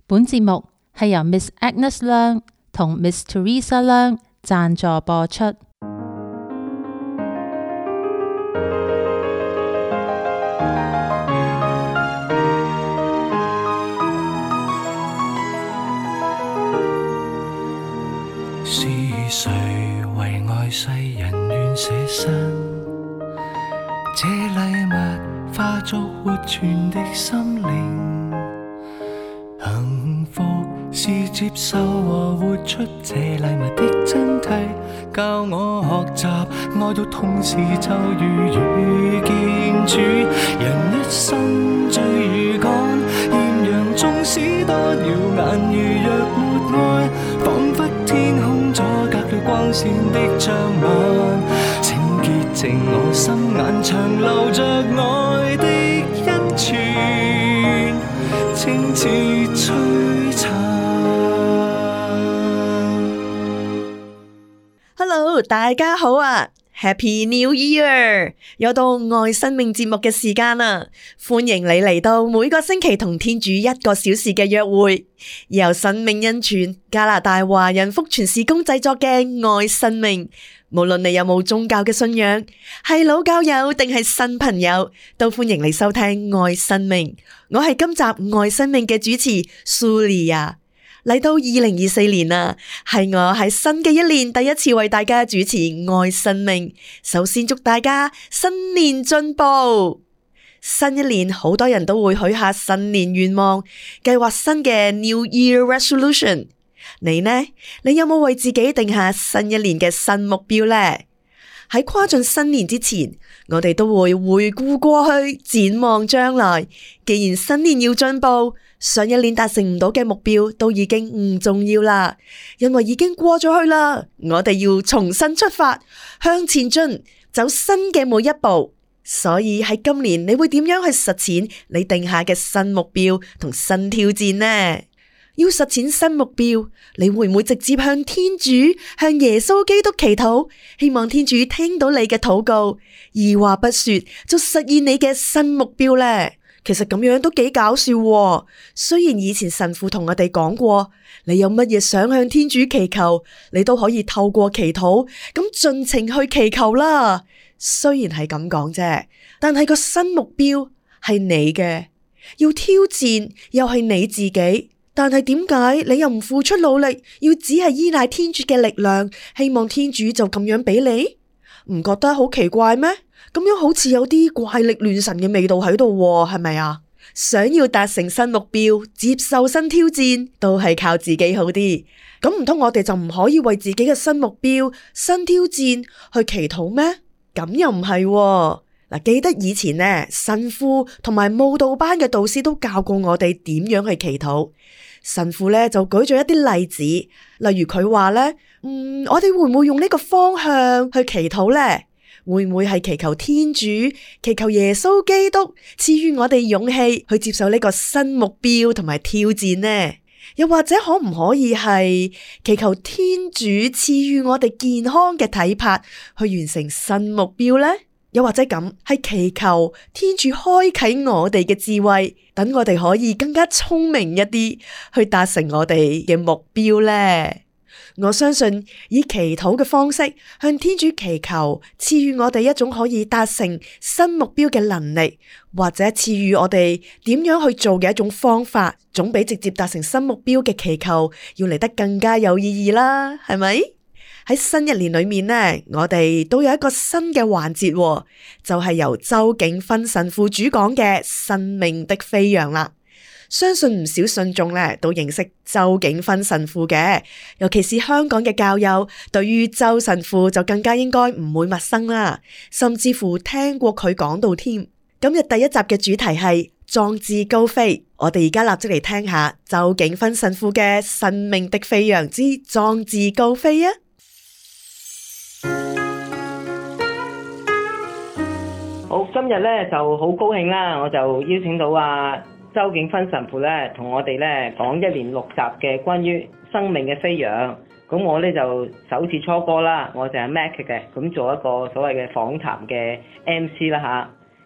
本節目係由 Miss Agnes 梁同 Miss Teresa 梁贊助播出。 是誰為愛世人願捨身？這禮物化作活存的心靈。幸福是接受和活出這禮物的真諦，教我學習愛到痛時就如遇見主。人一生追與趕，豔陽縱使多耀眼，如若沒愛，彷彿天空阻隔了光線的障眼。請潔淨我心眼，長留着愛的恩泉，清似璀璨。 Hello， 大家好啊 ！Happy New Year！ 又到愛生命節目嘅時間啦，歡迎你嚟到每個星期同天主1個小時嘅約會，由生命恩泉加拿大華人福傳事工製作嘅愛生命。無論你有冇宗教嘅信仰，係老教友定係新朋友，都歡迎你收聽愛生命。我係今集愛生命嘅主持蘇莉亞。嚟到2024年啦，係我喺新嘅一年第一次為大家主持愛生命。首先祝大家新年進步。新一年好多人都會許下新年願望，計劃新嘅 New Year Resolution。你呢？你有冇為自己定下新一年嘅新目標呢？喺跨進新年之前，我哋都會回顧過去，展望將來。既然新年要進步，上一年達成唔到嘅目標都已經唔重要啦，因為已經過咗去啦。我哋要重新出發，向前進，走新嘅每一步。所以喺今年，你會點樣去實踐你定下嘅新目標同新挑戰呢？要實踐新目標，你會唔會直接向天主、向耶穌基督祈禱，希望天主聽到你嘅禱告，二話不說就實現你嘅新目標呢？其實咁樣都幾搞笑喎。雖然以前神父同我哋講過，你有乜嘢想向天主祈求，你都可以透過祈禱咁盡情去祈求啦。雖然係咁講啫，但係個新目標係你嘅，要挑戰又係你自己。但係點解你又唔付出努力，要只係依賴天主嘅力量，希望天主就咁樣俾你？唔覺得好奇怪咩？咁樣好似有啲怪力亂神嘅味道喺度，係咪啊？想要達成新目標，接受新挑戰，都係靠自己好啲。咁唔通我哋就唔可以為自己嘅新目標、新挑戰去祈禱咩？咁又唔係喎。嗱，記得以前呢，神父同埋慕道班嘅導師都教過我哋點樣去祈禱。神父呢就舉咗一啲例子，例如佢話呢，我哋會唔會用呢個方向去祈禱呢？會唔會係祈求天主、祈求耶穌基督賜予我哋勇氣去接受呢個新目標同埋挑戰呢？又或者可唔可以係祈求天主賜予我哋健康嘅體魄去完成新目標呢？又或者咁係祈求天主開啟我哋嘅智慧，等我哋可以更加聰明一啲，去達成我哋嘅目標呢？我相信以祈禱嘅方式向天主祈求，賜予我哋一種可以達成新目標嘅能力，或者賜予我哋點樣去做嘅一種方法，總比直接達成新目標嘅祈求要嚟得更加有意義啦，係咪？喺新一年裏面呢，我哋都有一個新嘅環節，就係由周景芬神父主講嘅生命的飛揚啦。相信唔少信眾呢都認識周景芬神父嘅，尤其是香港嘅教友，對於周神父就更加應該唔會陌生啦，甚至乎聽過佢講到添。今日第一集嘅主題係壯志高飛，我哋而家立即嚟聽下周景芬神父嘅生命的飛揚之壯志高飛啊！ 好，今日咧就好高興啦，我就邀請到周景芬神父咧，同我哋咧講一連6集嘅關於生命嘅飛揚。咁我咧就首次初哥啦，我就係 Mac 嘅，咁做一個所謂嘅訪談嘅 MC 啦吓。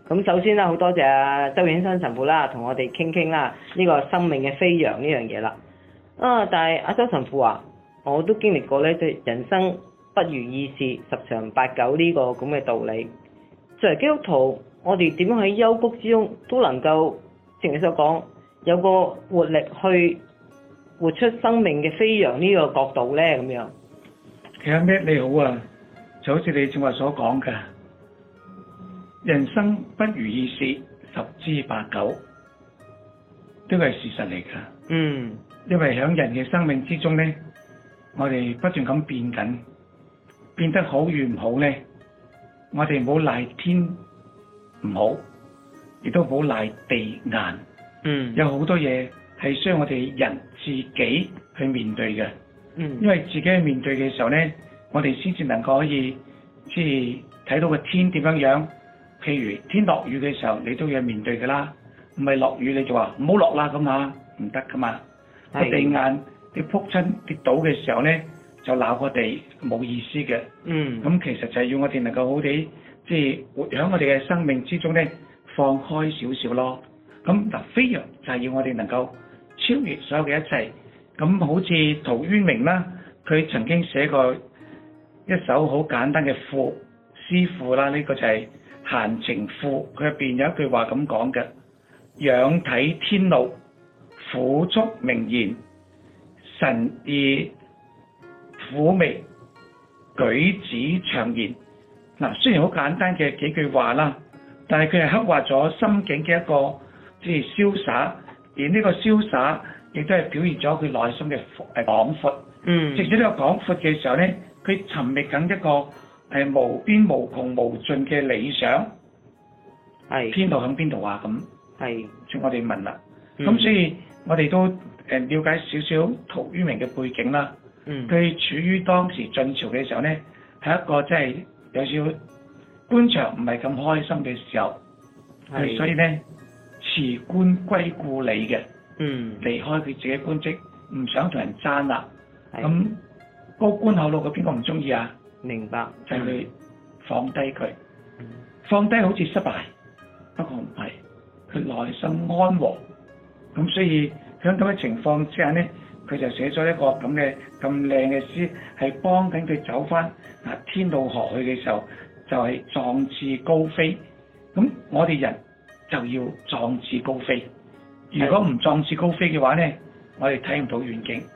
咁首先啦，好多謝周永生神父啦，同我哋傾啦呢個生命嘅飛揚呢樣嘢啦。但係阿周神父話，我都經歷過咧，即係人生不如意事十常八九呢個咁嘅道理。作為基督徒，我哋點樣喺幽谷之中都能夠，正如你所講，有個活力去活出生命嘅飛揚呢個角度咧，咁樣。 其實咩你好啊，就好似你正話所講嘅，人生不如意事十之八九，呢個係事實嚟㗎。因為喺人嘅生命之中咧，我哋不斷咁變緊，變得好與唔好咧，我哋唔好賴天唔好，亦都唔好賴地硬。有好多嘢係需要我哋人自己去面對嘅。因為自己去面對嘅時候咧，我哋先至能夠可以即係睇到個天點樣樣。譬如天落雨嘅時候，你都要面對㗎啦，唔係落雨你就話唔好落啦咁啊，唔得㗎嘛。個地硬你撲親跌倒嘅時候咧，就鬧個地冇意思嘅。咁其實就係要我哋能夠好地即係活喺我哋嘅生命之中咧，放開少少咯。咁嗱，飛揚就係要我哋能夠超越所有嘅一切。咁好似陶淵明啦，佢曾經寫過一首好簡單嘅詩賦啦，呢個就係《閒情賦》。佢入邊有一句話咁講嘅：仰睇天路，撫觸明言，神意撫眉，舉止長言。嗱，雖然好簡單嘅幾句話啦，但係佢係刻畫咗心境嘅一個即係瀟灑，而呢個瀟灑亦都係表現咗佢內心嘅廣闊。藉住呢個廣闊嘅時候咧，佢尋覓緊一個無邊無窮無盡嘅理想。天道喺邊度啊？咁請我哋問啦。咁所以我哋都了解少少陶淵明嘅背景啦。佢處於當時晉朝嘅時候咧，係一個真係有少少官場唔係咁開心嘅時候。所以咧辭官歸故里嘅。離開佢自己官職，唔想同人爭啦。咁高官厚祿嘅邊個唔中意啊？明白，就係去放低佢。放低好似失敗，不過唔係，佢內心安和。咁所以喺咁嘅情況之下咧，佢就寫咗一個咁靚嘅詩，係幫緊佢走翻天道河去嘅時候，就係壯志高飛。咁我哋人就要壯志高飛。如果唔壯志高飛嘅話咧，我哋睇唔到遠景。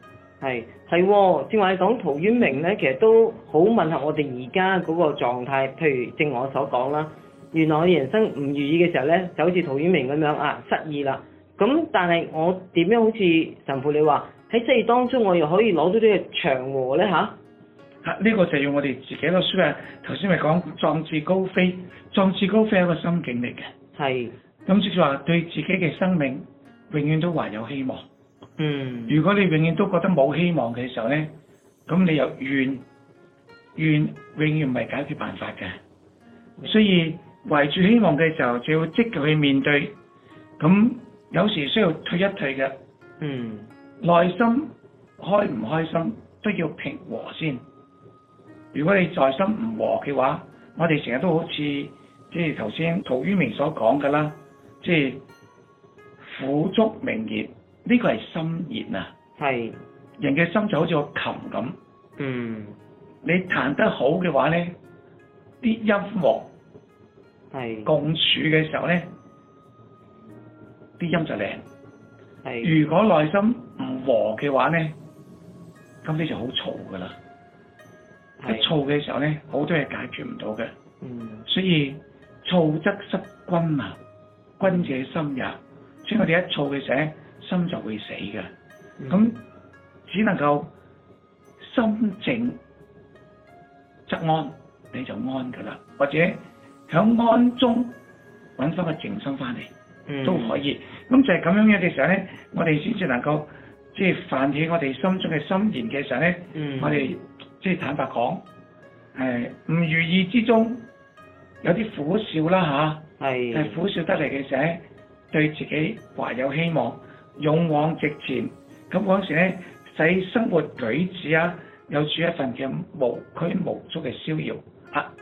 正話你講陶淵明咧，其實都好吻合我哋而家嗰個狀態。譬如正我所講啦，原來我哋人生唔如意嘅時候咧，就好似陶淵明咁樣失意啦。咁但係我點樣好似神父你話喺失意當中，我又可以攞到呢個祥和咧嚇？呢個就要我哋自己咯。所以頭先咪講壯志高飛，壯志高飛係一個心境嚟嘅。咁即係話對自己嘅生命永遠都懷有希望。如果你永遠都覺得冇希望嘅時候咧，咁你又怨永遠唔係解決辦法嘅。所以懷住希望嘅時候，就要積極去面對。咁有時需要退一退嘅。內心開唔開心都要平和先。如果你在心唔和嘅話，我哋成日都好似即係頭先陶淵明所講㗎啦。即係撫觸明言，呢個係心弦啊！人嘅心就好似個琴咁。你彈得好嘅話咧，啲音樂共處嘅時候咧，啲音就靚。如果內心唔和嘅話咧，咁你就好嘈㗎啦。一嘈嘅時候咧，好多嘢解決唔到嘅。所以躁則失君啊！君者心也，所以我哋一躁嘅時候，心就會死嘅。咁只能夠心靜則安，你就安噶啦。或者響安中揾翻個靜心翻嚟，都可以。咁就係咁樣樣嘅時候咧，我哋先至能夠即係泛起我哋心中嘅心弦嘅時候咧，我哋即係坦白講，唔如意之中有啲苦笑啦嚇。係苦笑得嚟嘅時候，對自己懷有希望，勇往直前。咁嗰時咧，使生活舉止有住一份嘅無拘無束嘅逍遙。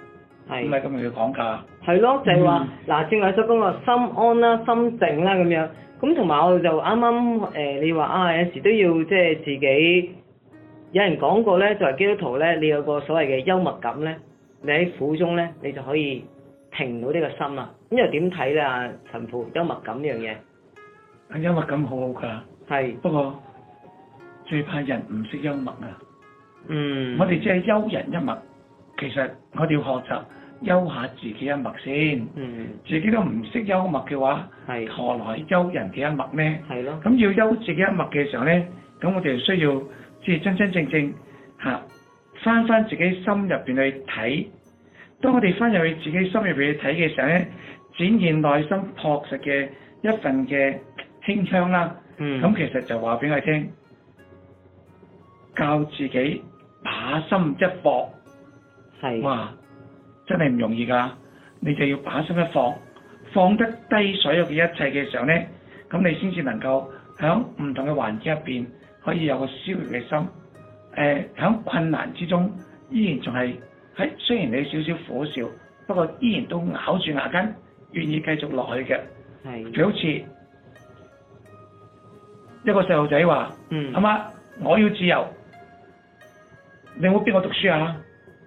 唔係咁樣去講㗎。 係咯，就係話嗱，正話所講個心安啦、心靜啦咁樣。咁同埋我就啱啱你話啊，有時都要即係自己。有人講過咧，作為基督徒咧，你有個所謂嘅幽默感咧，你喺苦中咧，你就可以停到呢個心啦。咁又點睇咧？啊，神父，幽默感呢樣嘢？ 幽默感好好㗎。係。不過最怕人唔識幽默啊。我哋只係幽人一默，其實我哋要學習幽下自己一默先。自己都唔識幽默嘅話，何來幽人嘅一默呢？係咯。咁要幽自己一默嘅時候咧，咁我哋需要即係真真正正翻自己心入邊去睇。當我哋翻入去自己心入邊去睇嘅時候咧，展現內心樸實嘅一份嘅馨香啦。咁其實就話俾我聽，教自己把心一放。係。哇！真係唔容易㗎，你就要把心一放，放得低所有嘅一切嘅時候咧，咁你先至能夠喺唔同嘅環境入邊可以有個消極嘅心。喺困難之中，依然仲係雖然你少少苦笑，不過依然都咬住牙根，願意繼續落去嘅。係。佢好似一個細路仔話：阿媽，我要自由，你有冇逼我讀書啊？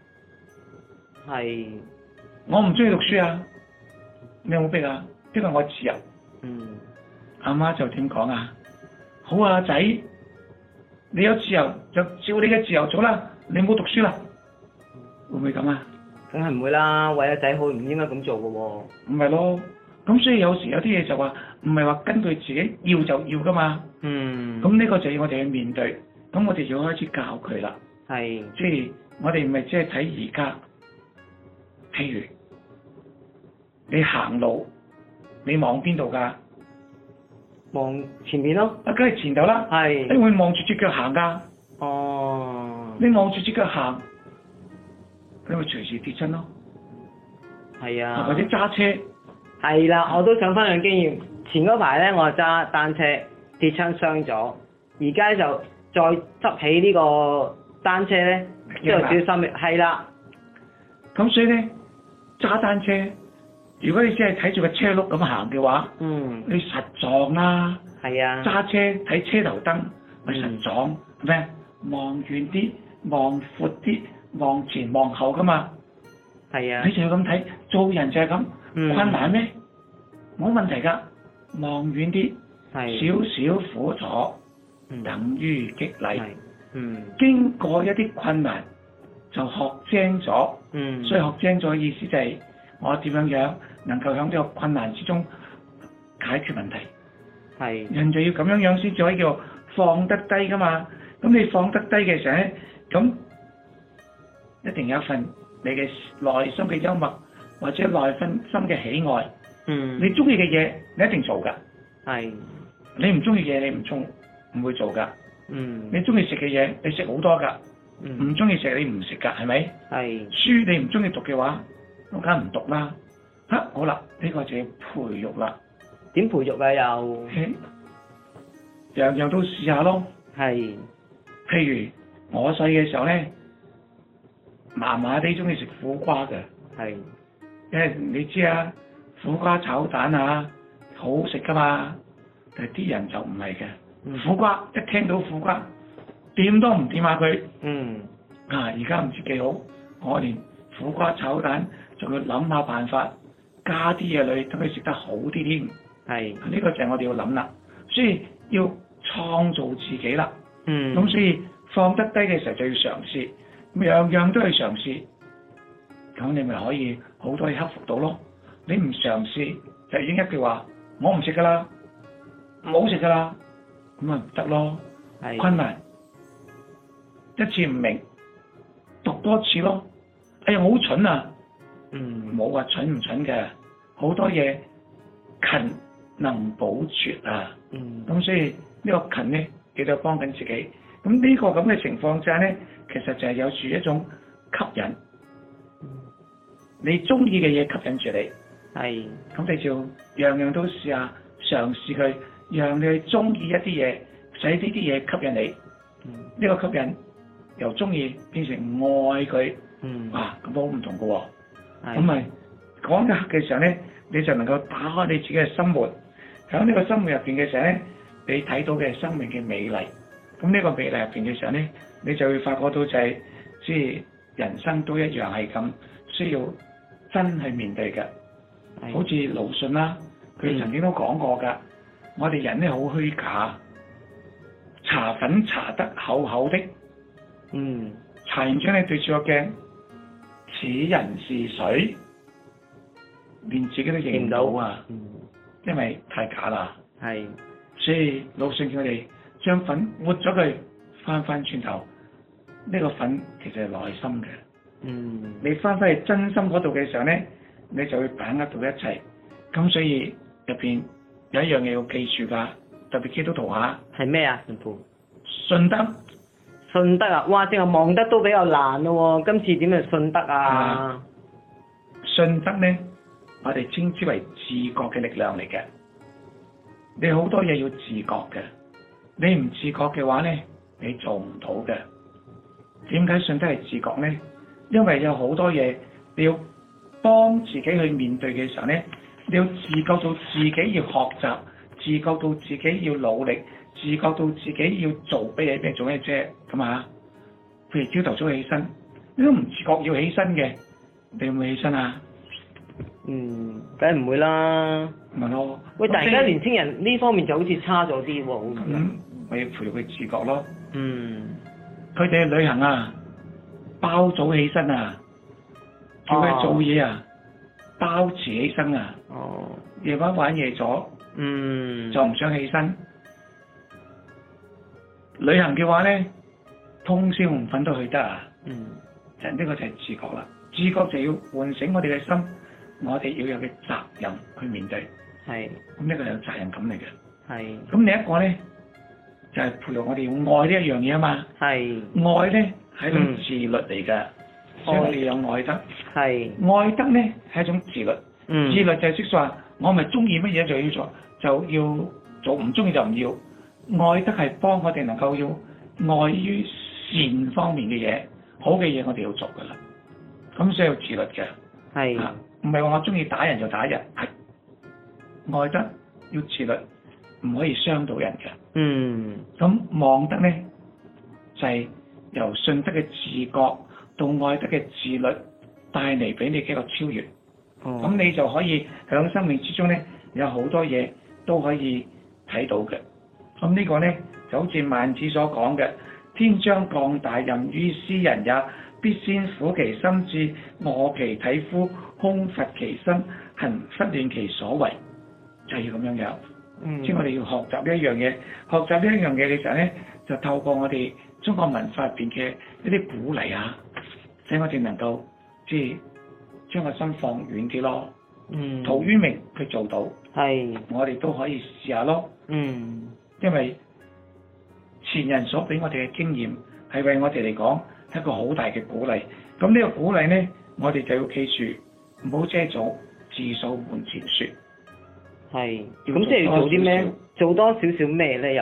係。我唔中意讀書啊！你有冇逼啊？因為我自由。阿媽就點講啊？好啊，仔，你有自由就照你嘅自由做啦，你唔好讀書啦。會唔會咁啊？梗係唔會啦，為咗仔好唔應該咁做嘅喎。唔係咯，咁所以有時有啲嘢就話唔係話根據自己要就要噶嘛。咁呢個就要我哋去面對，咁我哋要開始教佢啦。係。即係我哋唔係只係睇而家。譬如你行路，你望邊度㗎？望前面咯。梗係前頭啦。係。你會望住隻腳行㗎。哦。你望住隻腳行，你會隨時跌親咯。係啊。或者揸車。係啦，我都想分享經驗。前嗰排咧，我揸單車跌親傷咗，而家就再執起呢個單車咧，都有少少心。係啦。咁所以咧。揸單車，如果你只係睇住個車轆咁行嘅話，你實撞啦。係啊。揸車睇車頭燈，咪實撞咩？望遠啲，望闊啲，望前望後噶嘛。係啊。你就要咁睇，做人就係咁。困難咩？冇問題㗎，望遠啲，少少苦楚，等於激勵。經過一啲困難。就學精咗，所以學精咗嘅意思就係我點樣能夠喺呢個困難之中解決問題。係。人就要咁樣先至可以叫放得低噶嘛。咁你放得低嘅時候咧，咁一定有一份你嘅內心嘅幽默或者內心嘅喜愛。你中意嘅嘢你一定做㗎。係。你唔中意嘅嘢你唔會做㗎。你中意食嘅嘢你食好多㗎。唔中意食你唔食㗎，係咪？係。書你唔中意讀嘅話，我梗係唔讀啦。好啦，呢個就要培育啦。點培育啊？又樣樣都試下咯。係。譬如我細嘅時候咧，麻麻地中意食苦瓜嘅。係。因為你知啊，苦瓜炒蛋啊，好好食㗎嘛。但係啲人就唔係嘅。苦瓜一聽到苦瓜，掂都唔掂下佢。而家唔知幾好，我連苦瓜炒蛋仲要諗下辦法，加啲嘢落去，等佢食得好啲添。係。呢個就係我哋要諗啦，所以要創造自己啦。咁所以放得低嘅時候就要嘗試，樣樣都去嘗試，咁你咪可以好多嘢克服到咯。你唔嘗試就已經一句話，我唔食㗎啦，唔好食㗎啦，咁咪唔得咯。係。困難。一次唔明，讀多次咯。哎呀，我好蠢啊！冇話蠢唔蠢嘅，好多嘢勤能補拙啊。咁所以呢個勤咧，記得幫緊自己。咁呢個咁嘅情況之下咧，其實就係有住一種吸引。你中意嘅嘢吸引住你。係。咁你就樣樣都試下嘗試佢，讓你去中意一啲嘢，使呢啲嘢吸引你。呢個吸引。由中意變成愛佢，咁好唔同㗎喎。 咁咪嗰一刻嘅時候咧，你就能夠打開你自己嘅心門。喺呢個心門入邊嘅時候咧，你睇到嘅生命嘅美麗。咁呢個美麗入邊嘅時候咧，你就會發覺到就係即係人生都一樣係咁需要真係面對嘅。好似魯迅啦，佢曾經都講過㗎，我哋人咧好虛假，搽粉搽得厚厚的，搽完之後咧對住個鏡，此人是誰？連自己都認唔到啊！因為太假啦。係，所以魯迅叫我哋將粉抹咗佢，翻轉頭，呢個粉其實係內心嘅。你翻去真心嗰度嘅時候咧，你就會把握到一切。咁所以入邊有一樣嘢要記住㗎，特別基督徒嚇。係咩啊？信德。信德啊！哇，淨係望得都比較難咯喎，今次點樣信德啊？信德咧，我哋稱之為自覺嘅力量嚟嘅。你好多嘢要自覺嘅，你唔自覺嘅話咧，你做唔到嘅。點解信德係自覺咧？因為有好多嘢你要幫自己去面對嘅時候咧，你要自覺到自己要學習，自覺到自己要努力，自覺到自己要做咩做咩啫，咁啊？譬如朝頭早起身，你都唔自覺要起身嘅，你會唔會起身啊？梗係唔會啦。咪咯。喂，但係而家年輕人呢方面就好似差咗啲喎。我要培育佢自覺咯。佢哋去旅行啊，包早起身啊，叫佢做嘢啊，包遲起身啊。夜晚玩夜咗，就唔想起身。旅行嘅話咧，通宵唔瞓都去得啊。就呢個就係自覺啦。自覺就要喚醒我哋嘅心，我哋要有嘅責任去面對。係。咁呢個係有責任感嚟嘅。係。咁另一個咧，就係培育我哋要愛呢一樣嘢啊嘛。係。愛咧係一種自律嚟嘅，所以我哋有愛德。係。愛德咧係一種自律。自律就係即係話，我咪中意乜嘢就要做，就要做，唔中意就唔要。愛德係幫我哋能夠要愛於善方面嘅嘢，好嘅嘢我哋要做噶啦。咁需要自律嘅。係。唔係話我中意打人就打人，係愛德要自律，唔可以傷到人嘅。咁望德咧就係由信德嘅自覺到愛德嘅自律帶嚟俾你嘅一個超越。咁你就可以喺生命之中咧有好多嘢都可以睇到嘅。咁呢個咧就好似孟子所講嘅：天將降大任於斯人也，必先苦其心志，餓其體膚，空乏其身，行拂亂其所為，就係要咁樣樣。即係我哋要學習呢一樣嘢，學習呢一樣嘢嘅時候咧，就透過我哋中國文化入邊嘅一啲鼓勵啊，使我哋能夠即係將個心放遠啲咯。陶淵明佢做到，我哋都可以試下咯。因為前人所俾我哋嘅經驗係為我哋嚟講係一個好大嘅鼓勵。咁呢個鼓勵咧，我哋就要記住，唔好遮阻，自掃門前雪。係。咁即係要做啲咩？做多少少咩咧？又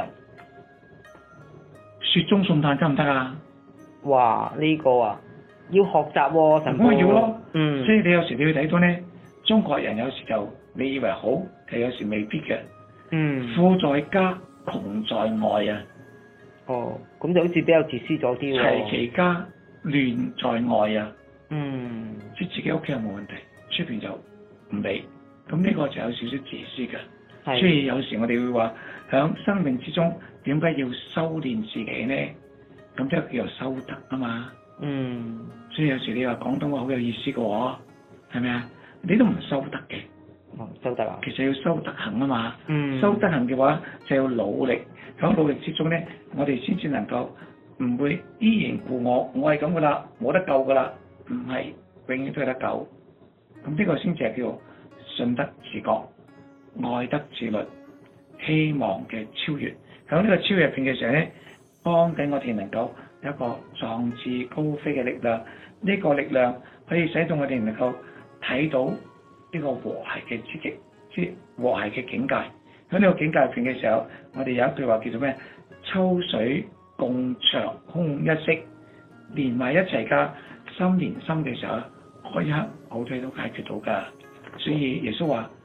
雪中送炭得唔得啊？哇！呢個啊，要學習喎，神父。咁咪要咯。所以你有時你要睇到咧，中國人有時就你以為好，其實有時未必嘅。富在家，窮在外啊！咁就好似比較自私咗啲喎。齊其家，亂在外啊！即係自己屋企又冇問題，出邊就唔理。咁呢個就有少少自私嘅。所以有時我哋會話，響生命之中點解要修煉自己咧？咁即係叫做修德啊嘛。所以有時你話廣東話好有意思嘅喎，係咪啊？你都唔修德嘅。修德啊！其實要修德行啊嘛。修德行嘅話就要努力，喺努力之中咧，我哋先至能夠唔會依然故我係咁噶啦，冇得救噶啦，唔係永遠都有得救。咁呢個先至係叫信德自覺、愛德自律、希望嘅超越。喺呢個超越入邊嘅時候咧，幫緊我哋能夠有一個壯志高飛嘅力量。呢個力量可以使到我哋能夠睇到呢個和諧嘅積極，即係和諧嘅境界。喺呢個境界入邊嘅時候，我哋有一句話叫做咩？秋水共長空一色，連埋一齊㗎，心連心嘅時候， 嗰一刻好多嘢都解決到㗎。所以耶穌話：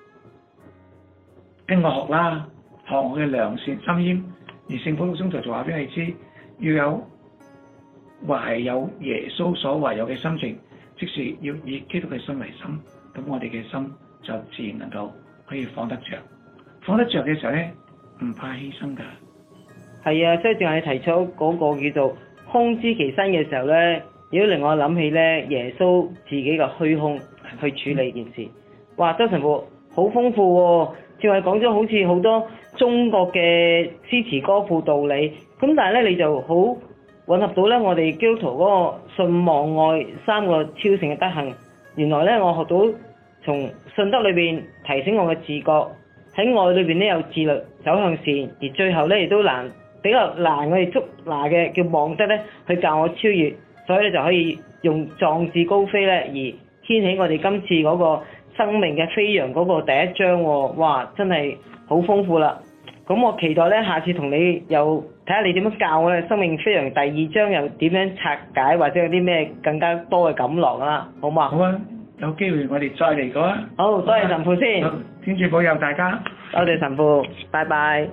跟我學啦，學我嘅良善心謙。而聖保祿宗徒就話俾你知，要有懷有耶穌所懷有嘅心情，即是要以基督嘅心為心。咁我哋嘅心就自然能夠可以放得着。放得着嘅時候咧，唔怕犧牲㗎。 係啊，即係正係你提出嗰個叫做空知其身嘅時候咧，亦都令我諗起咧耶穌自己嘅虛空去處理件事。哇，周神父好豐富喎，正係講咗好似好多中國嘅詩詞歌賦道理，咁但係咧你就好混合到咧我哋基督徒嗰個信望愛三個超性嘅德行。原來咧我學到從信德裏邊提醒我嘅自覺，喺愛裏邊咧有自律走向善，而最後咧亦都比較難我哋捉拿嘅叫望德咧去教我超越，所以咧就可以用壯志高飛咧而掀起我哋今次嗰個生命嘅飛揚嗰個第一章喎。哇，真係好豐富啦！咁我期待咧下次同你又睇下你點樣教我咧生命飛揚第二章又點樣拆解，或者有啲咩更加多嘅感落啦，好嘛？ 好啊，有機會我哋再嚟過啊！ 好，多謝神父先， 天主保佑大家， 多謝神父，拜拜。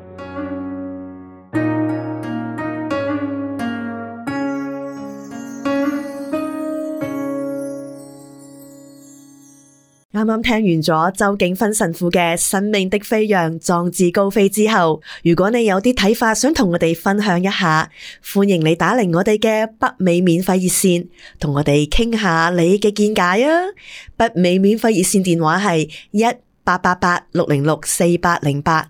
啱啱聽完咗周景芬神父嘅生命的飛揚壯志高飛之後，如果你有啲睇法想同我哋分享一下，歡迎你打嚟我哋嘅北美免費熱線，同我哋傾下你嘅見解啊！北美免費熱線電話係1888-606-4808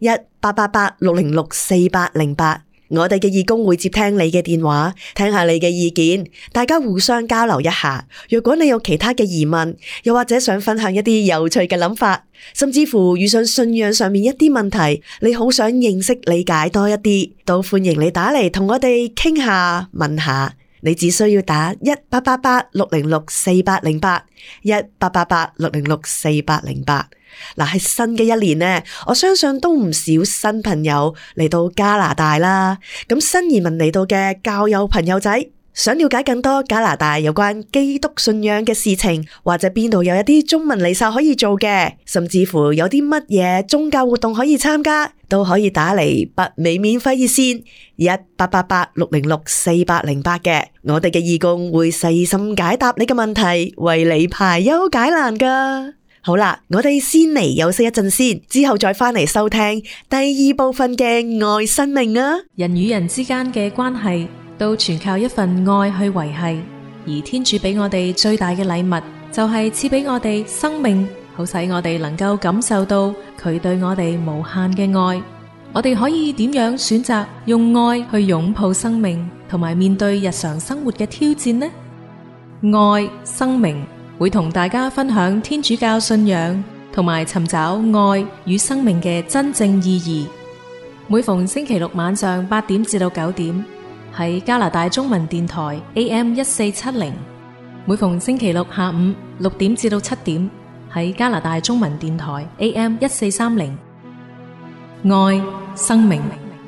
1888-606-4808。我哋嘅義工會接聽你嘅電話，聽下你嘅意見，大家互相交流一下。若果你有其他嘅疑問，又或者想分享一啲有趣嘅諗法，甚至乎遇上信仰上面一啲問題，你好想認識理解多一啲，都歡迎你打嚟同我哋傾下問下。你只需要打1888-606-4808 1888-606-4808。嗱，係新嘅一年呢，我相信都唔少新朋友嚟到加拿大啦。咁新移民嚟到嘅教友朋友仔，想了解更多加拿大有關基督信仰嘅事情，或者邊度有一啲中文彌撒可以做嘅，甚至乎有啲乜嘢宗教活動可以參加，都可以打嚟北美免費熱線1888-606-4808嘅。我哋嘅義工會細心解答你嘅問題，為你排憂解難噶。好啦，我哋先嚟休息一陣先，之後再返嚟收聽第二部分嘅愛生命啊！ 人與人之間嘅關係都全靠一份愛去維繫，而天主俾我哋最大嘅禮物就係賜俾我哋生命，好使我哋能夠感受到佢對我哋無限嘅愛。我哋可以點樣選擇用愛去擁抱生命，同埋面對日常生活嘅挑戰呢？愛生命會同大家分享天主教信仰，同埋尋找愛與生命嘅真正意義。每逢星期六晚上8點至到9點，喺加拿大中文電台 AM1470；每逢星期六下午6點至到7點，喺加拿大中文電台 AM1430。愛生命。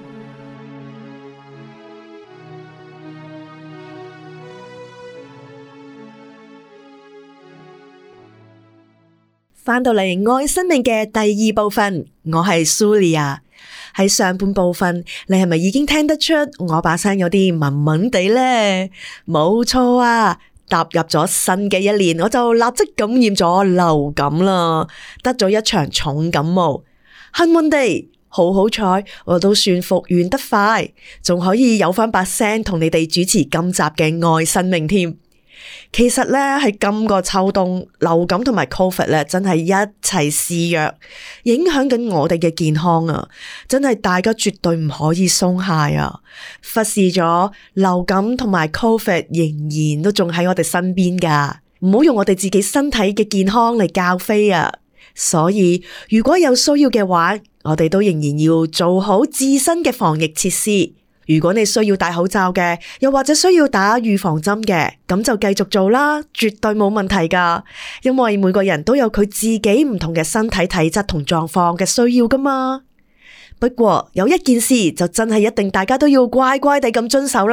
返到嚟愛生命嘅第二部分，我係 Sulia。喺上半部分，你係咪已經聽得出我把聲有啲悶悶地呢？冇錯啊，踏入咗新嘅一年，我就立即感染咗流感啦，得咗一場重感冒。幸運地，好彩，我都算復原得快，仲可以有返把聲同你哋主持今集嘅愛生命添。其實咧，喺今個秋冬，流感同埋 Covid 咧，真係一齊肆虐，影響緊我哋嘅健康啊！真係大家絕對唔可以鬆懈啊！忽視咗流感同埋 Covid，仍然都仲喺我哋身邊噶，唔好用我哋自己身體嘅健康嚟較飛啊！所以如果有需要嘅話，我哋都仍然要做好自身嘅防疫設施。如果你需要戴口罩嘅，又或者需要打預防針嘅，咁就繼續做啦，絕對冇問題噶。因為每個人都有佢自己唔同嘅身體體質同狀況嘅需要噶嘛。不過有一件事就真係一定大家都要乖乖地咁遵守啦，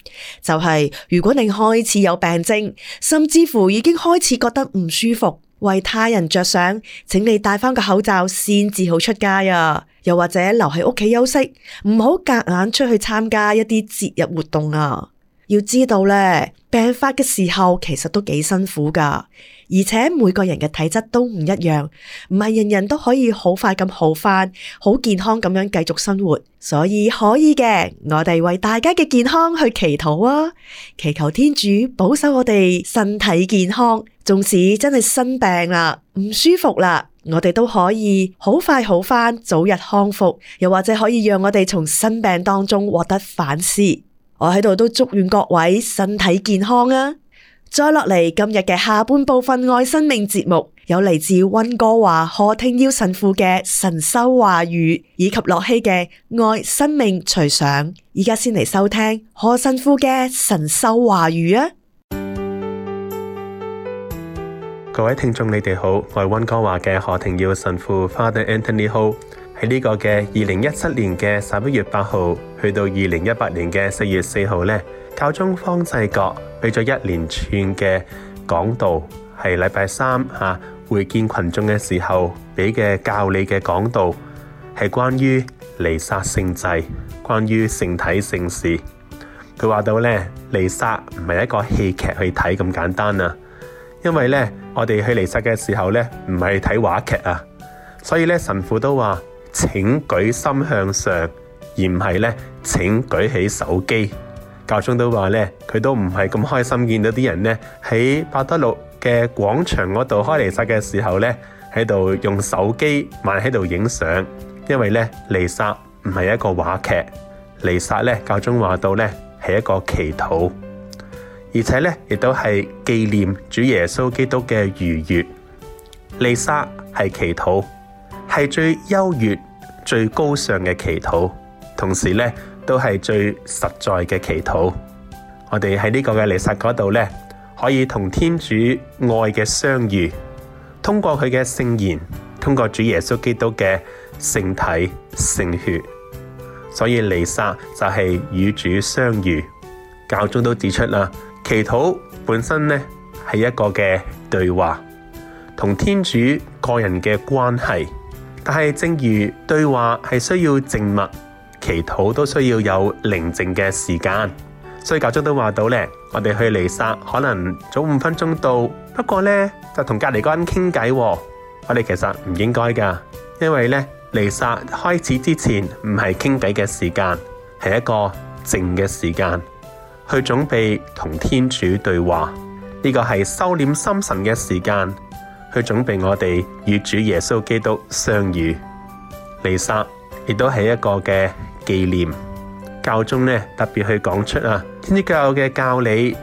就係如果你開始有病徵，甚至乎已經開始覺得唔舒服，為他人着想，請你戴翻個口罩先至好出街啊！又或者留喺屋企休息，唔好夾硬出去參加一啲節日活動啊！要知道咧，病發嘅時候其實都幾辛苦噶，而且每個人嘅體質都唔一樣，唔係人人都可以好快咁好返，好健康咁樣繼續生活。所以可以嘅，我哋為大家嘅健康去祈禱啊，祈求天主保守我哋身體健康。縱使真係生病啦，唔舒服啦，我哋都可以好快好返，早日康復，又或者可以讓我哋從生病當中獲得反思。我喺度都祝願各位身體健康啊！再落嚟，今日嘅下半部分愛生命節目，有嚟自溫哥華何廷耀神父嘅神修話語，以及樂希嘅愛生命隨想。而家先嚟收聽何神父嘅神修話語啊！ 各位聽眾，你哋好，我係溫哥華嘅何廷耀神父 Father Anthony Ho。喺呢個嘅2017年嘅11月8號去到2018年嘅4月4號呢，教宗方濟各俾咗一連串嘅講道，係禮拜三會見群眾嘅時候俾嘅教理嘅講道，係關於彌撒聖祭，關於聖體聖事。佢話到呢，彌撒唔係一個戲劇去睇咁簡單啊，因為呢，我哋去彌撒嘅時候呢，唔係睇話劇啊，所以呢，神父都話，請舉心向上，而唔係咧，請舉起手機。教宗都話咧，佢都唔係咁開心見到啲人咧喺伯德祿嘅廣場嗰度開彌撒嘅時候咧，喺度用手機慢喺度影相，因為咧彌撒唔係一個話劇，彌撒咧教宗話到咧係一個祈禱，而且咧亦都係紀念主耶穌基督嘅逾越。彌撒係祈禱，係最優越、最高尚嘅祈禱，同時咧都係最實在嘅祈禱。我哋喺呢個嘅彌撒嗰度咧，可以同天主愛嘅相遇，通過佢嘅聖言，通過主耶穌基督嘅聖體聖血。所以彌撒就係與主相遇。教宗都指出啦，祈禱本身咧係一個嘅對話，同天主個人嘅關係。但係正如對話係需要靜默，祈禱都需要有寧靜嘅時間。所以教宗都話到咧，我哋去彌撒可能早5分鐘到，不過咧就同隔籬嗰人傾偈。我哋其實唔應該噶，因為咧彌撒開始之前唔係傾偈嘅時間，係一個靜嘅時間，去準備同天主對話。呢個係收斂心神嘅時間，去準備我哋與主耶穌基督相遇。彌撒亦都係一個嘅紀念。教宗呢特別去講出天主教嘅教理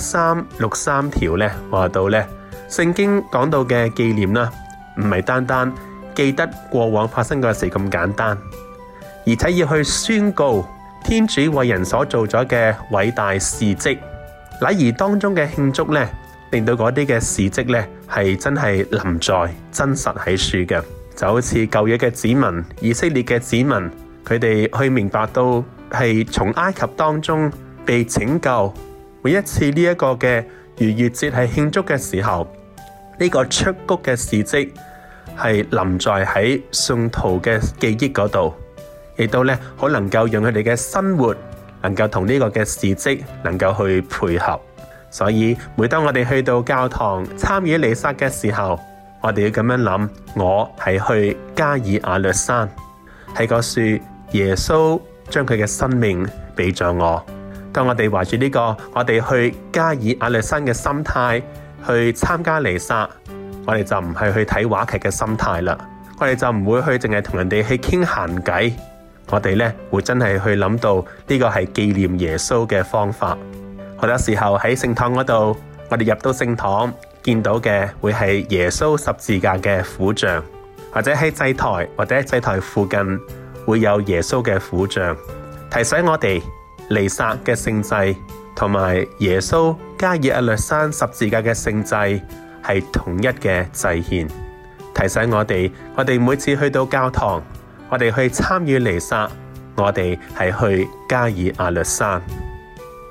1363條呢話到呢，聖經講到嘅紀念啦，唔係單單記得過往發生嘅事咁簡單，而且要去宣告天主為人所做咗嘅偉大事蹟。禮儀當中嘅慶祝呢，令到嗰啲嘅事蹟呢係真係臨在真實喺處嘅，就好似舊約嘅子民、以色列嘅子民，佢哋去明白到係從埃及當中被拯救。每一次呢一個嘅逾越節係慶祝嘅時候，呢個出谷嘅事蹟係臨在喺信徒嘅記憶嗰度，亦都呢好能夠讓佢哋嘅生活能夠同呢個嘅事蹟能夠去配合。所以每當我哋去到教堂參與彌撒嘅時候，我哋要咁樣諗，我係去加爾亞略山，喺個樹耶穌將佢嘅生命俾咗我。當我哋懷住呢個我哋去加爾亞略山嘅心態去參加彌撒，我哋就唔係去睇話劇嘅心態啦，我哋就唔會去淨係同人哋去傾閒偈，我哋呢會真係去諗到呢個係紀念耶穌嘅方法。好多時候喺聖堂嗰度，我哋入到聖堂見到嘅會係耶穌十字架嘅苦像，或者喺祭台或者喺祭台附近會有耶穌嘅苦像，提醒我哋彌撒嘅聖祭同埋耶穌加爾亞略山十字架嘅聖祭係同一嘅祭獻，提醒我哋每次去到教堂，我哋去參與彌撒，我哋係去加爾亞略山。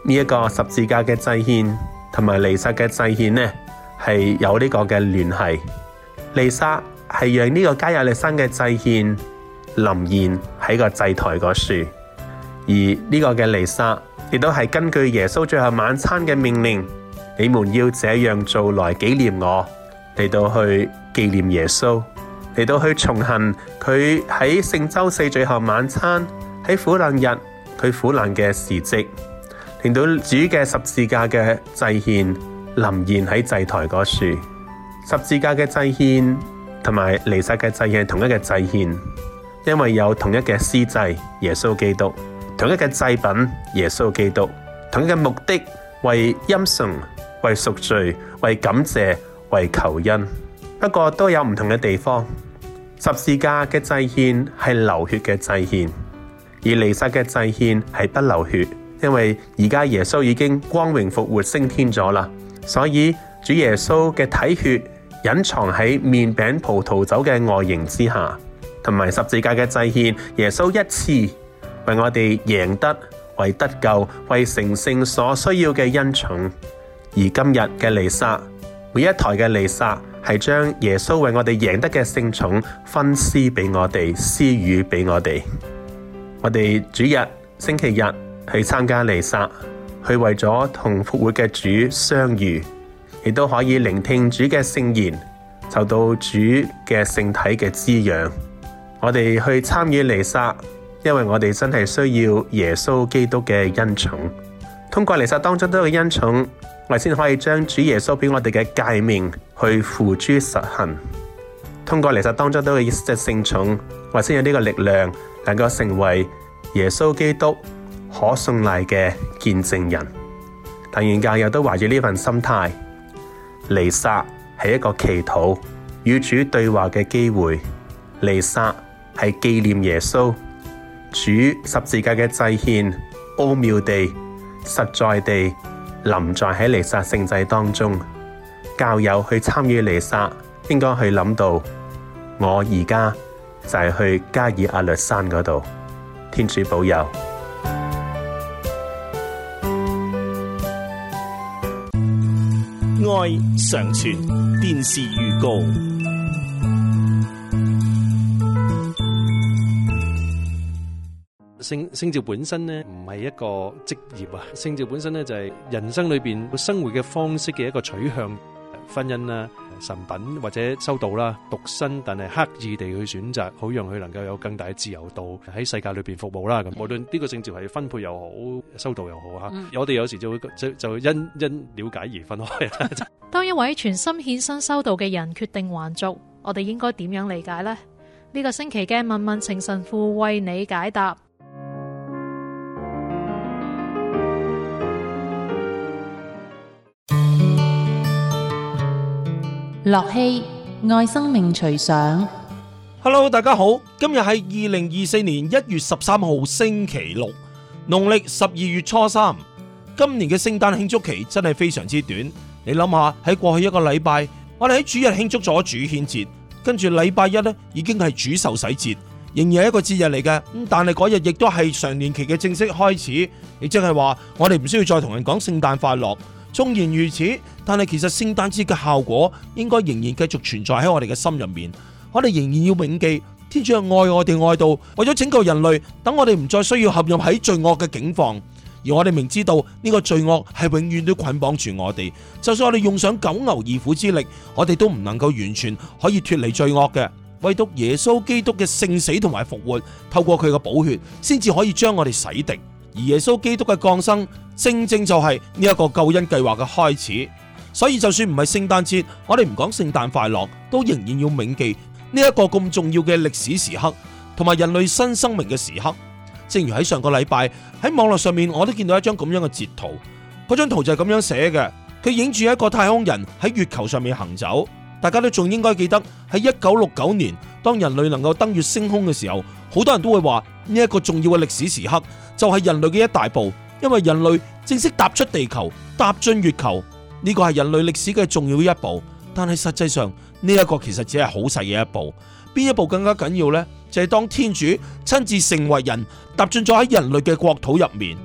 呢一個十字架嘅祭獻同埋彌撒嘅祭獻呢，係有呢個嘅聯繫。彌撒係讓呢個加百列山嘅祭獻臨現喺個祭台嗰處，而呢個嘅彌撒亦都係根據耶穌最後晚餐嘅命令，你們要這樣做來紀念我，嚟到去紀念耶穌，嚟到去重行佢喺聖週四最後晚餐喺苦難日佢苦難嘅事蹟，令到主嘅十字架嘅祭獻臨現喺祭台嗰處。十字架嘅祭獻同埋彌撒嘅祭獻係同一個祭獻，因為有同一嘅司祭耶穌基督，同一個祭品耶穌基督，同一個目的為欽崇、為贖罪、為感謝、為求恩。不過都有唔同嘅地方。十字架嘅祭獻係流血嘅祭獻，而彌撒嘅祭獻係不流血，因為而家耶穌已經光榮復活升天咗啦，所以主耶穌嘅體血隱藏喺麵餅葡萄酒嘅外形之下，同埋十字架嘅祭獻，耶穌一次為我哋贏得、為得救、為成聖所需要嘅恩寵。而今日嘅彌撒，每一台嘅彌撒係將耶穌為我哋贏得嘅聖寵分施俾我哋，施予俾我哋。我哋主日、星期日去參加彌撒，去為咗同復活嘅主相遇，亦都可以聆聽主嘅聖言，受到主嘅聖體嘅滋養。我哋去參與彌撒，因為我哋真係需要耶穌基督嘅恩寵。通過彌撒當中都有嘅恩寵，我哋先可以將主耶穌俾我哋嘅誡命去付諸實行。通過彌撒當中都有嘅聖寵，我哋先有呢個力量，能夠成為耶穌基督可信賴嘅見證人。但願教友都懷住呢份心態，彌撒係一個祈禱與主對話嘅機會，彌撒係紀念耶穌主十字架嘅祭獻，奧妙地、實在地臨在喺彌撒聖祭當中。教友去參與彌撒，應該去諗到，我而家就係去加爾亞略山嗰度。天主保佑。 愛常傳電視預告。 聖召本身呢，唔係一個職業啊，聖召本身呢，就係人生裏邊生活嘅方式嘅一個取向，婚姻啦、神品或者修道啦、獨身，但係刻意地去選擇，好讓佢能夠有更大嘅自由度喺世界裏邊服務啦。咁無論呢個聖召係分配又好，修道又好吓，我哋有時就會就因了解而分開。 當一位全心獻身修道嘅人決定還俗，我哋應該點樣理解呢？呢個星期嘅問問情神父為你解答。 樂器愛生命隨想。 Hello， 大家好，今日係2024年1月13號星期六，農曆12月初3。今年嘅聖誕慶祝期真係非常之短。你諗下，喺過去一個禮拜，我哋喺主日慶祝咗主顯節，跟住禮拜一呢已經係主受洗節，仍然係一個節日嚟嘅。但係嗰日亦都係常年期嘅正式開始，亦即係話我哋唔需要再同人講聖誕快樂。縱然如此，但係其實聖誕節嘅效果應該仍然繼續存在喺我哋嘅心入面。我哋仍然要銘記天主愛我哋愛到為咗拯救人類，等我哋唔再需要陷入喺罪惡嘅境況。而我哋明知道呢個罪惡係永遠都捆綁住我哋，就算我哋用上九牛二虎之力，我哋都唔能夠完全可以脫離罪惡嘅。唯獨耶穌基督嘅聖死同埋復活，透過佢嘅寶血，先至可以將我哋洗滌。而耶穌基督嘅降生，正正就係呢一個救恩計劃嘅開始。所以就算唔係聖誕節，我哋唔講聖誕快樂，都仍然要銘記呢一個咁重要嘅歷史時刻，同埋人類新生命嘅時刻。正如喺上個禮拜喺網絡上面，我都見到一張咁樣嘅截圖。嗰張圖就係咁樣寫嘅，佢影住一個太空人喺月球上面行走。大家都仲應該記得喺1969年，當人類能夠登月升空嘅時候，好多人都會話呢一個重要嘅歷史時刻就係人類嘅一大步，因為人類正式踏出地球，踏進月球。呢個係人類歷史嘅重要一步。但係實際上呢一個其實只係好細嘅一步。邊一步更加緊要呢？就係當天主親自成為人，踏進咗喺人類嘅國土入面。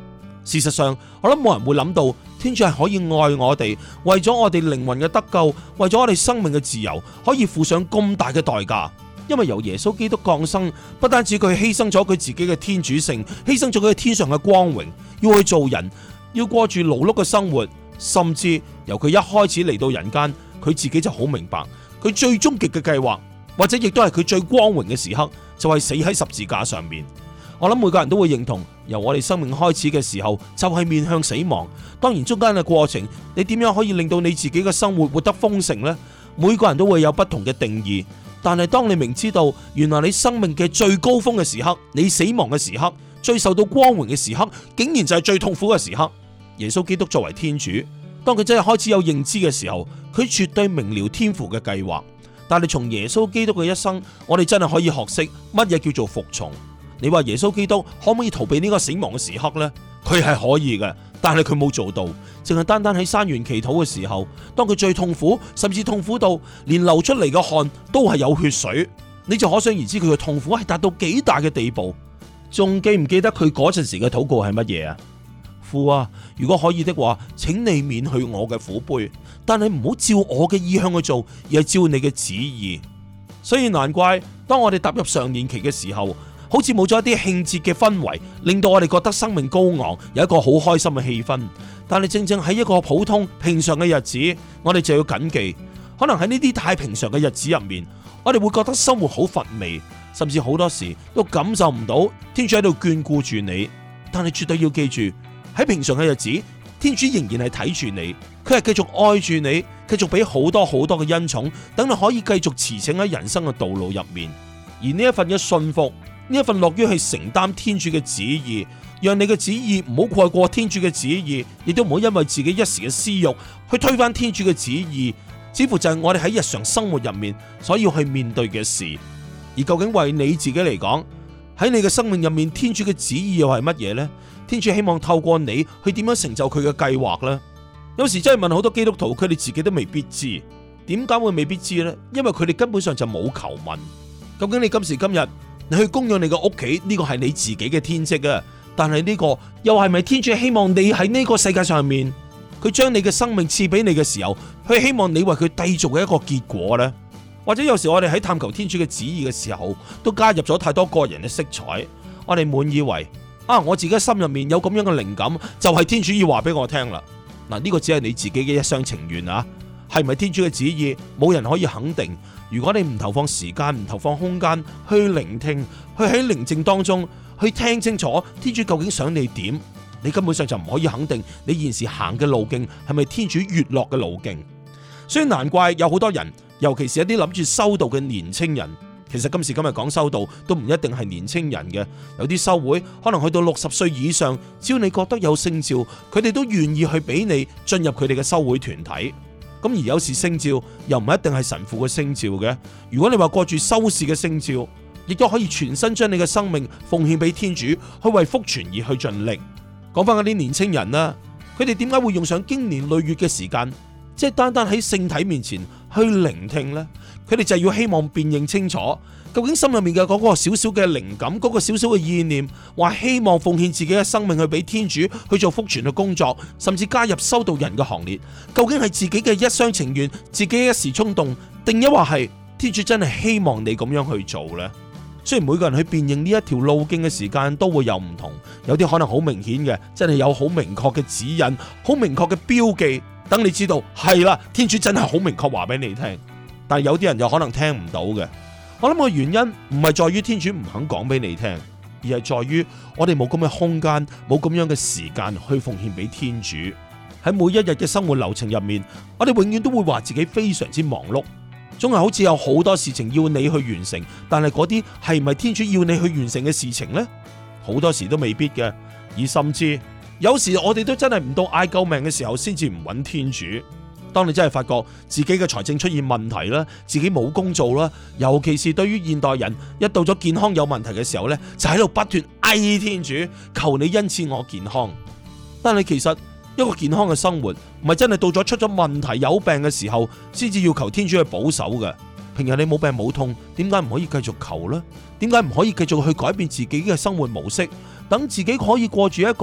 事實上，我諗冇人會諗到天主係可以愛我哋，為咗我哋靈魂嘅得救，為咗我哋生命嘅自由，可以付上咁大嘅代價。因為由耶穌基督降生，不單止佢犧牲咗佢自己嘅天主性，犧牲咗佢天上嘅光榮，要去做人，要過住勞碌嘅生活，甚至由佢一開始嚟到人間，佢自己就好明白，佢最終極嘅計劃，或者亦都係佢最光榮嘅時刻，就係死喺十字架上面。我諗每個人都會認同，由我哋生命開始嘅時候，就係面向死亡。當然中間嘅過程，你點樣可以令到你自己嘅生活活得豐盛呢？每個人都會有不同嘅定義。但係當你明知道，原來你生命嘅最高峰嘅時刻，你死亡嘅時刻，最受到光榮嘅時刻，竟然就係最痛苦嘅時刻。耶穌基督作為天主，當佢真係開始有認知嘅時候，佢絕對明了天父嘅計劃。但係從耶穌基督嘅一生，我哋真係可以學識乜嘢叫做服從。你話耶穌基督可唔可以逃避呢個死亡嘅時刻呢？佢係可以嘅，但係佢冇做到，淨係單單喺山園祈禱嘅時候，當佢最痛苦，甚至痛苦到連流出嚟嘅汗都係有血水，你就可想而知佢嘅痛苦係達到幾大嘅地步。仲記唔記得佢嗰陣時嘅禱告係乜嘢啊？父啊，如果可以的話，請你免去我嘅苦杯，但係唔好照我嘅意向去做，而係照你嘅旨意。所以難怪當我哋踏入常年期嘅時候，好似冇咗一啲慶節嘅氛圍，令到我哋覺得生命高昂，有一個好開心嘅氣氛。但係正正喺一個普通平常嘅日子，我哋就要謹記，可能喺呢啲太平常嘅日子入面，我哋會覺得生活好乏味，甚至好多時都感受唔到天主喺度眷顧住你。但係絕對要記住，喺平常嘅日子，天主仍然係睇住你，佢係繼續愛住你，繼續俾好多好多嘅恩寵，等你可以繼續馳騁喺人生嘅道路入面。而呢一份嘅信服，呢一份樂於去承擔天主嘅旨意，讓你嘅旨意唔好蓋過天主嘅旨意，亦都唔好因為自己一時嘅私欲去推翻天主嘅旨意，似乎就係我哋喺日常生活入面所要去面對嘅事。而究竟為你自己嚟講，喺你嘅生命入面，天主嘅旨意又係乜嘢呢？天主希望透過你去點樣成就佢嘅計劃呢？有時真係問好多基督徒，佢哋自己都未必知。點解會未必知呢？因為佢哋根本上就冇求問。究竟你今時今日你去供養你個屋企，呢個係你自己嘅天職啊！但係呢個又係咪天主希望你喺呢個世界上面，佢將你嘅生命賜俾你嘅時候，佢希望你為佢締造嘅一個結果呢？或者有時我哋喺探求天主嘅旨意嘅時候，都加入咗太多個人嘅色彩，我哋滿以為我自己心入面有咁樣嘅靈感，就係天主要話俾我聽啦。嗱，呢個只係你自己嘅一廂情願啊，係咪天主嘅旨意？冇人可以肯定。如果你唔投放時間、唔投放空間去聆聽，去喺寧靜當中去聽清楚天主究竟想你點，你根本上就唔可以肯定你現時行嘅路徑係咪天主悅樂嘅路徑。所以難怪有好多人，尤其是一啲諗住修道嘅年青人，其實今時今日講修道都唔一定係年青人嘅，有啲修會可能去到60歲以上，只要你覺得有聖召，佢哋都願意去俾你進入佢哋嘅修會團體。咁而有時聖召又唔一定係神父嘅聖召嘅，如果你話過住修士嘅聖召，亦都可以全身將你嘅生命奉獻俾天主，去為福傳而去盡力。講翻嗰啲年青人啦，佢哋點解會用上經年累月嘅時間，即係單單喺聖體面前去聆聽呢？佢哋就要希望辨認清楚，究竟心入面嘅嗰個少少嘅靈感，嗰個少少嘅意念，話希望奉獻自己嘅生命去俾天主去做福傳嘅工作，甚至加入修道人嘅行列，究竟係自己嘅一廂情願，自己一時衝動，定抑或係天主真係希望你咁樣去做呢？雖然每個人去辨認呢一條路徑嘅時間都會有唔同，有啲可能好明顯嘅，真係有好明確嘅指引，好明確嘅標記，等你知道係啦，天主真係好明確話俾你聽。但係有啲人就可能聽唔到嘅。我諗個原因唔係在於天主唔肯講俾你聽，而係在於我哋冇咁嘅空間，冇咁樣嘅時間去奉獻俾天主。喺每一日嘅生活流程入面，我哋永遠都會話自己非常之忙碌，總係好似有好多事情要你去完成，但係嗰啲係唔係天主要你去完成嘅事情呢？好多時都未必嘅，而甚至有時我哋都真係唔到嗌救命嘅時候先至唔揾天主。當你真係發覺自己嘅財政出現問題啦，自己冇工做啦，尤其是對於現代人，一到咗健康有問題嘅時候呢，就喺度不斷嗌天主，求你恩賜我健康。但係其實一個健康嘅生活，唔係真係到咗出咗問題有病嘅時候，先至要求天主去保守嘅。平日你冇病冇痛，點解唔可以繼續求呢？點解唔可以繼續去改變自己嘅生活模式，等自己可以過住一個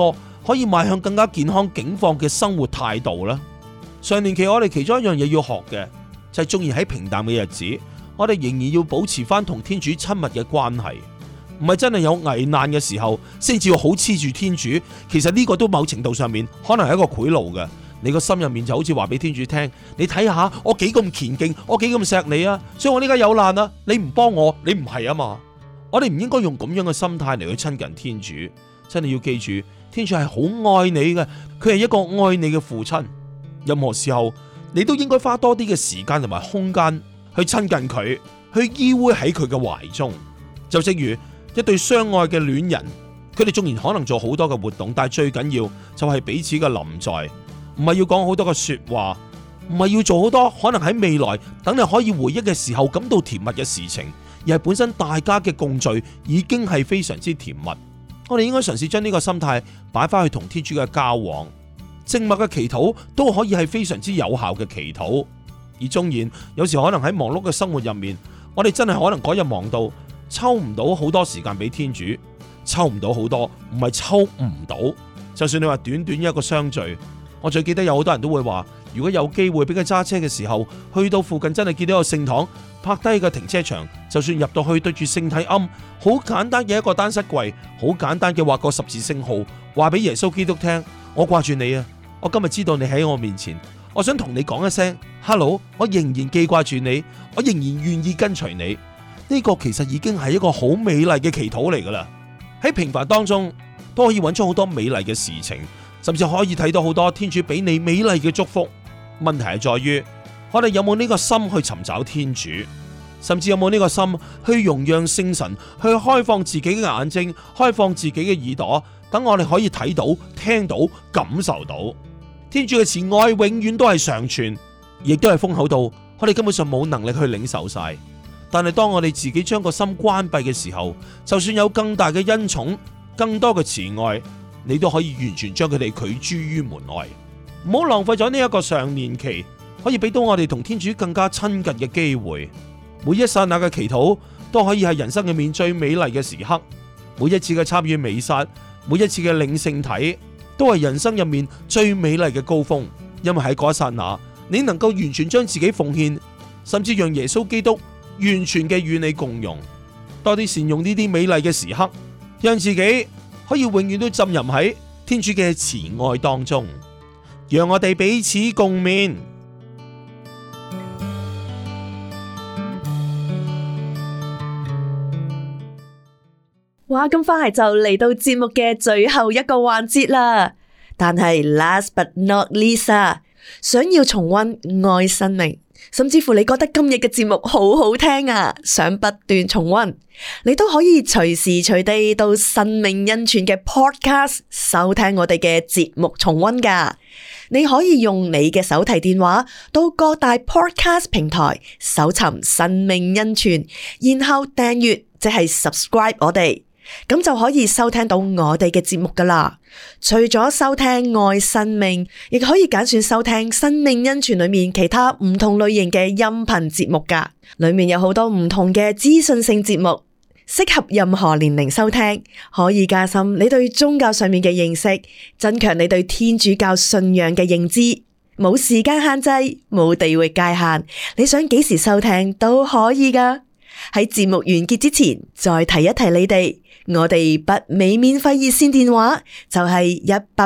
可以邁向更加健康境況嘅生活態度呢？上年期我哋其中一樣嘢要學嘅就係，縱然喺平淡嘅日子，我哋仍然要保持翻同天主親密嘅關係，唔係真係有危難嘅時候先至要好黐住天主。其實呢個都某程度上面可能係一個賄賂嘅。你個心入面就好似話俾天主聽，你睇下我幾咁虔敬，我幾咁錫你啊，所以我呢家有難啊，你唔幫我，你唔係啊嘛。我哋唔應該用咁樣嘅心態嚟去親近天主。真係要記住，天主係好愛你嘅，佢係一個愛你嘅父親。任何時候你都應該花多啲嘅時間同埋空間去親近佢，去依偎喺佢嘅懷中。就正如一對相愛嘅戀人，佢哋縱然可能做好多嘅活動，但係最緊要就係彼此嘅臨在，唔係要講好多嘅說話，唔係要做好多可能喺未來等你可以回憶嘅時候感到甜蜜嘅事情，而係本身大家嘅共聚已經係非常之甜蜜。我哋應該嘗試將呢個心態擺翻去同天主嘅交往，靜默嘅祈禱都可以係非常之有效嘅祈禱。而縱然有時可能喺忙碌嘅生活入面，我哋真係可能嗰日忙到抽唔到好多時間俾天主，抽唔到好多，唔係抽唔到。就算你話短短一個相聚，我最記得有好多人都會話，如果有機會俾佢揸車嘅時候，去到附近真係見到個聖堂，泊低個停車場，就算入到去對住聖體龕，好簡單嘅一個單膝跪，好簡單嘅畫個十字聖號，話俾耶穌基督聽，我掛住你啊！我今日知道你喺我面前，我想同你講一聲 Hello， 我仍然記掛住你，我仍然願意跟隨你。呢個其實已經係一個好美麗嘅祈禱嚟噶啦。喺平凡當中都可以揾出好多美麗嘅事情，甚至可以睇到好多天主俾你美麗嘅祝福。問題係在於我哋有冇呢個心去尋找天主，甚至有冇呢個心去容讓聖神去開放自己嘅眼睛，開放自己嘅耳朵，等我哋可以睇到、聽到、感受到天主嘅慈愛永遠都係常存，亦都係豐厚到我哋根本上冇能力去領受晒。但係當我哋自己將個心關閉嘅時候，就算有更大嘅恩寵、更多嘅慈愛，你都可以完全將佢哋拒諸於門外。唔好浪費咗呢一個上年期，可以俾到我哋同天主更加親近嘅機會。每一剎那嘅祈禱都可以係人生入面最美麗嘅時刻。每一次嘅參與彌撒，每一次嘅領聖體，都係人生入面最美麗嘅高峰。因為喺嗰一剎那，你能夠完全將自己奉獻，甚至讓耶穌基督完全嘅與你共融。多啲善用呢啲美麗嘅時刻，讓自己可以永遠都浸淫喺天主嘅慈愛當中。讓我哋彼此共勉。 哇，咁快就嚟到節目嘅最後一個環節啦！但係 last but not least 啊，想要重溫愛生命，甚至乎你覺得今日嘅節目好好聽啊，想不斷重溫，你都可以隨時隨地到生命恩泉嘅 podcast 收聽我哋嘅節目重溫噶。你可以用你嘅手提電話到各大 podcast 平台搜尋生命恩泉，然後訂閱即係 subscribe 我哋，咁就可以收聽到我哋嘅節目噶啦。除咗收聽愛生命，亦可以揀選收聽生命恩泉裏面其他唔同類型嘅音頻節目噶，裏面有好多唔同嘅資訊性節目，適合任何年齡收聽，可以加深你對宗教上面嘅認識，增強你對天主教信仰嘅認知。冇時間限制，冇地域界限，你想幾時收聽都可以噶。喺節目完結之前，再提一提你哋，我哋北美免費熱線電話就係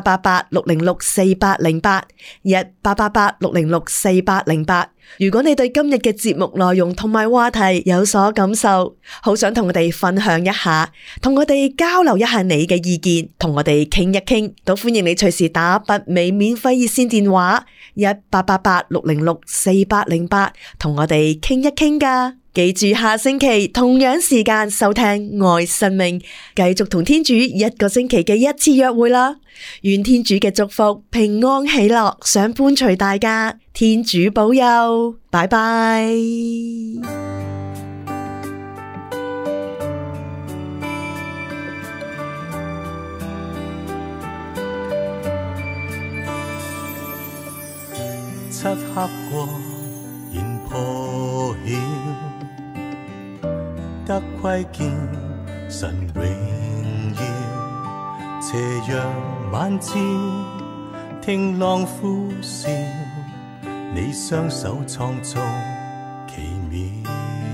1888-606-4808，1888-606-4808。如果你對今日嘅節目內容同埋話題有所感受，好想同我哋分享一下，同我哋交流一下你嘅意見，同我哋傾一傾，都歡迎你隨時打北美免費熱線電話1888-606-4808，同我哋傾一傾噶。記住下星期同樣時間收聽愛生命，繼續同天主一個星期嘅一次約會啦。願天主嘅祝福、平安喜樂想伴隨大家，天主保佑，拜拜。 漆黑過現破曉，得窺見神榮耀， 斜陽晚照，聽浪呼嘯，你雙手創造奇妙。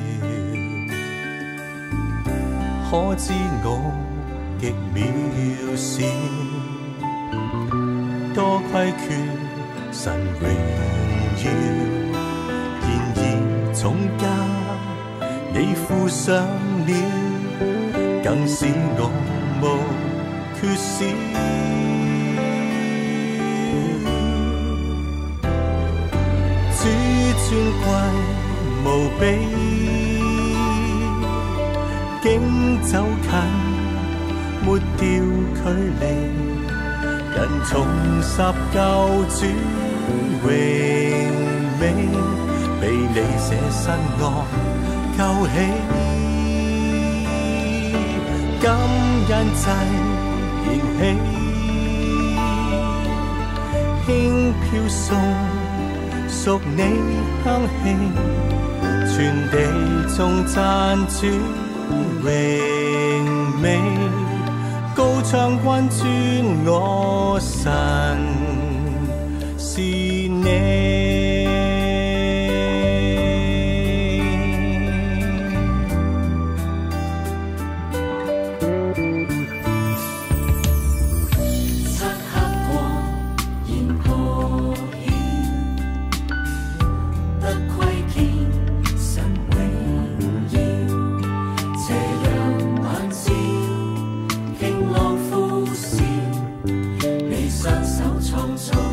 可知我極渺小，多虧缺神榮耀。然而重價你付上了，更使我無缺少。主尊貴無比，竟走近抹掉距離，人重拾舊主榮美，被你捨身愛救起，感恩祭燃起，輕飄送屬你香氣，全地眾讚主榮美，高唱溫尊我神是你。 雙手創造